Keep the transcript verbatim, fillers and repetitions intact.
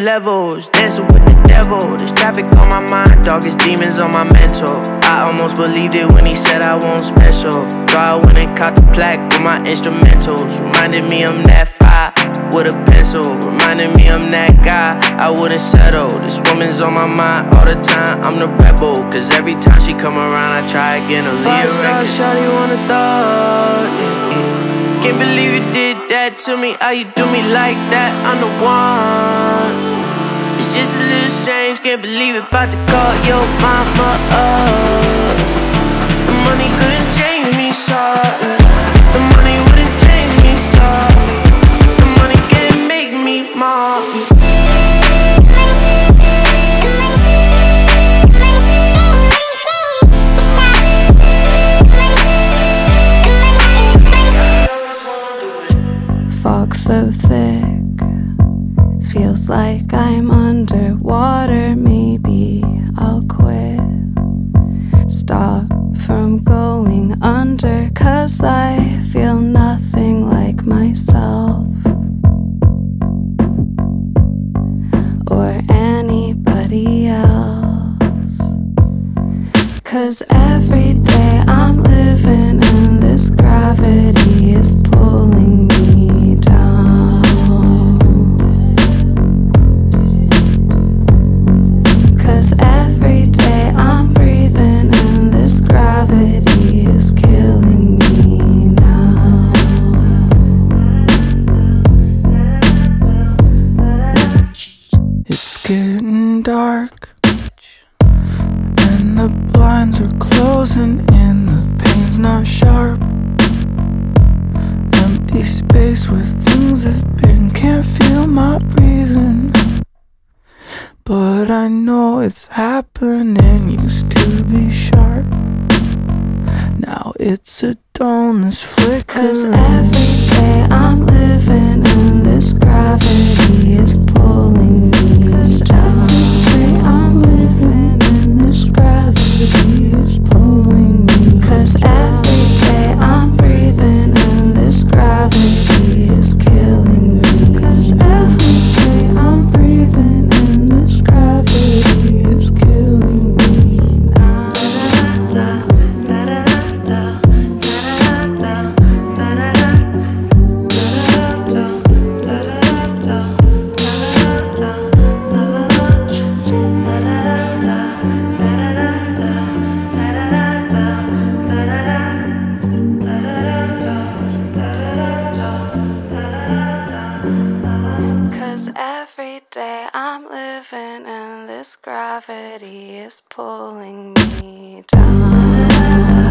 levels, dancing with the devil. There's traffic on my mind, dog, it's demons on my mental. I almost believed it when he said I won't special. So I went and caught the plaque for my instrumentals. Reminded me I'm that fire with a pencil. Reminded me I'm that guy, I wouldn't settle. This woman's on my mind all the time, I'm the rebel. Cause every time she come around, I try again to leave a record. Shawty wanna thought, yeah, yeah. Can't believe you did that to me, how you do me like that, I'm the one. It's just a little strange, can't believe it, about to call your mama up. The money couldn't change me, sorry. The money wouldn't change me, sorry. The money can't make me more. Fog so thick, feels like I'm underwater. Maybe I'll quit, stop from going under, cause I feel nothing like myself or anybody else. Cause every day I'm living and this gravity is pulling me down. Cause every day I'm breathing and this gravity is killing me now. It's getting dark and the blinds are closing in, the pain's not sharp. Empty space where things have been, can't feel my breathing. But I know it's happening, used to be sharp. Now it's a dullness flicker. Cause every day I'm living and this gravity is pulling me Cause down. Every day I'm living and this gravity is pulling me Cause every day I'm breathing and this gravity is killing me Cause every day I'm breathing and this gravity is killing me now. Cause every day I'm living and this gravity is pulling me down.